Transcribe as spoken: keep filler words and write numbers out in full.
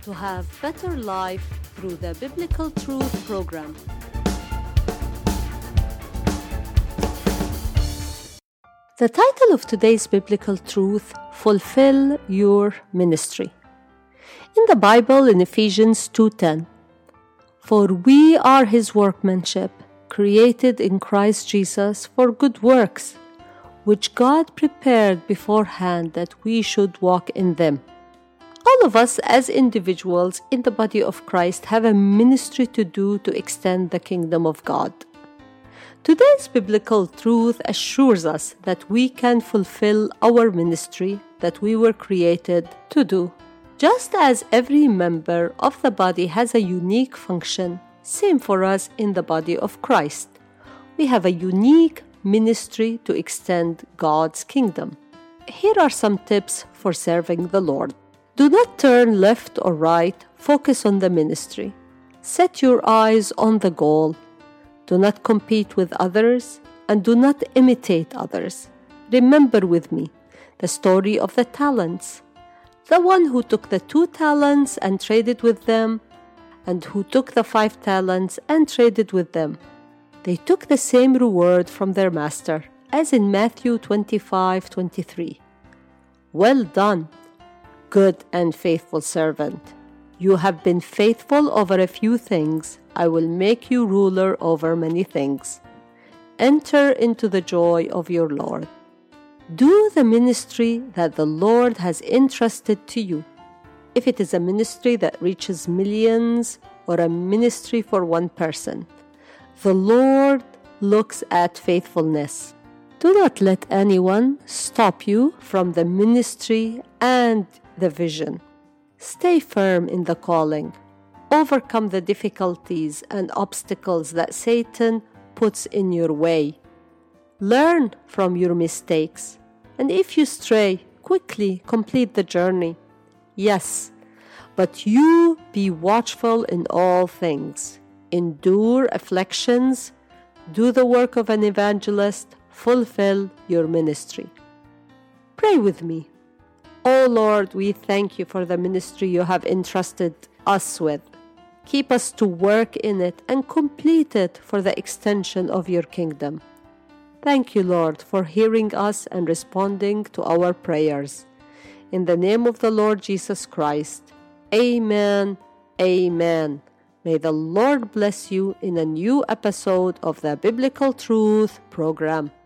to have better life through the Biblical Truth program. The title of today's Biblical Truth, Fulfill Your Ministry. In the Bible, in Ephesians two ten, "For we are His workmanship, created in Christ Jesus for good works, which God prepared beforehand that we should walk in them." All of us as individuals in the body of Christ have a ministry to do to extend the kingdom of God. Today's biblical truth assures us that we can fulfill our ministry that we were created to do. Just as every member of the body has a unique function, same for us in the body of Christ. We have a unique ministry to extend God's kingdom. Here are some tips for serving the Lord. Do not turn left or right, focus on the ministry. Set your eyes on the goal. Do not compete with others and do not imitate others. Remember with me the story of the talents. The one who took the two talents and traded with them, and who took the five talents and traded with them. They took the same reward from their master, as in Matthew twenty-five twenty-three. "Well done, good and faithful servant. You have been faithful over a few things. I will make you ruler over many things. Enter into the joy of your Lord." Do the ministry that the Lord has entrusted to you. If it is a ministry that reaches millions or a ministry for one person, the Lord looks at faithfulness. Do not let anyone stop you from the ministry and the vision. Stay firm in the calling. Overcome the difficulties and obstacles that Satan puts in your way. Learn from your mistakes, and if you stray, quickly complete the journey. Yes, but you be watchful in all things. Endure afflictions. Do the work of an evangelist. Fulfill your ministry. Pray with me. Oh Lord, we thank you for the ministry you have entrusted us with. Keep us to work in it and complete it for the extension of your kingdom. Thank you, Lord, for hearing us and responding to our prayers. In the name of the Lord Jesus Christ, amen, amen. May the Lord bless you in a new episode of the Biblical Truth program.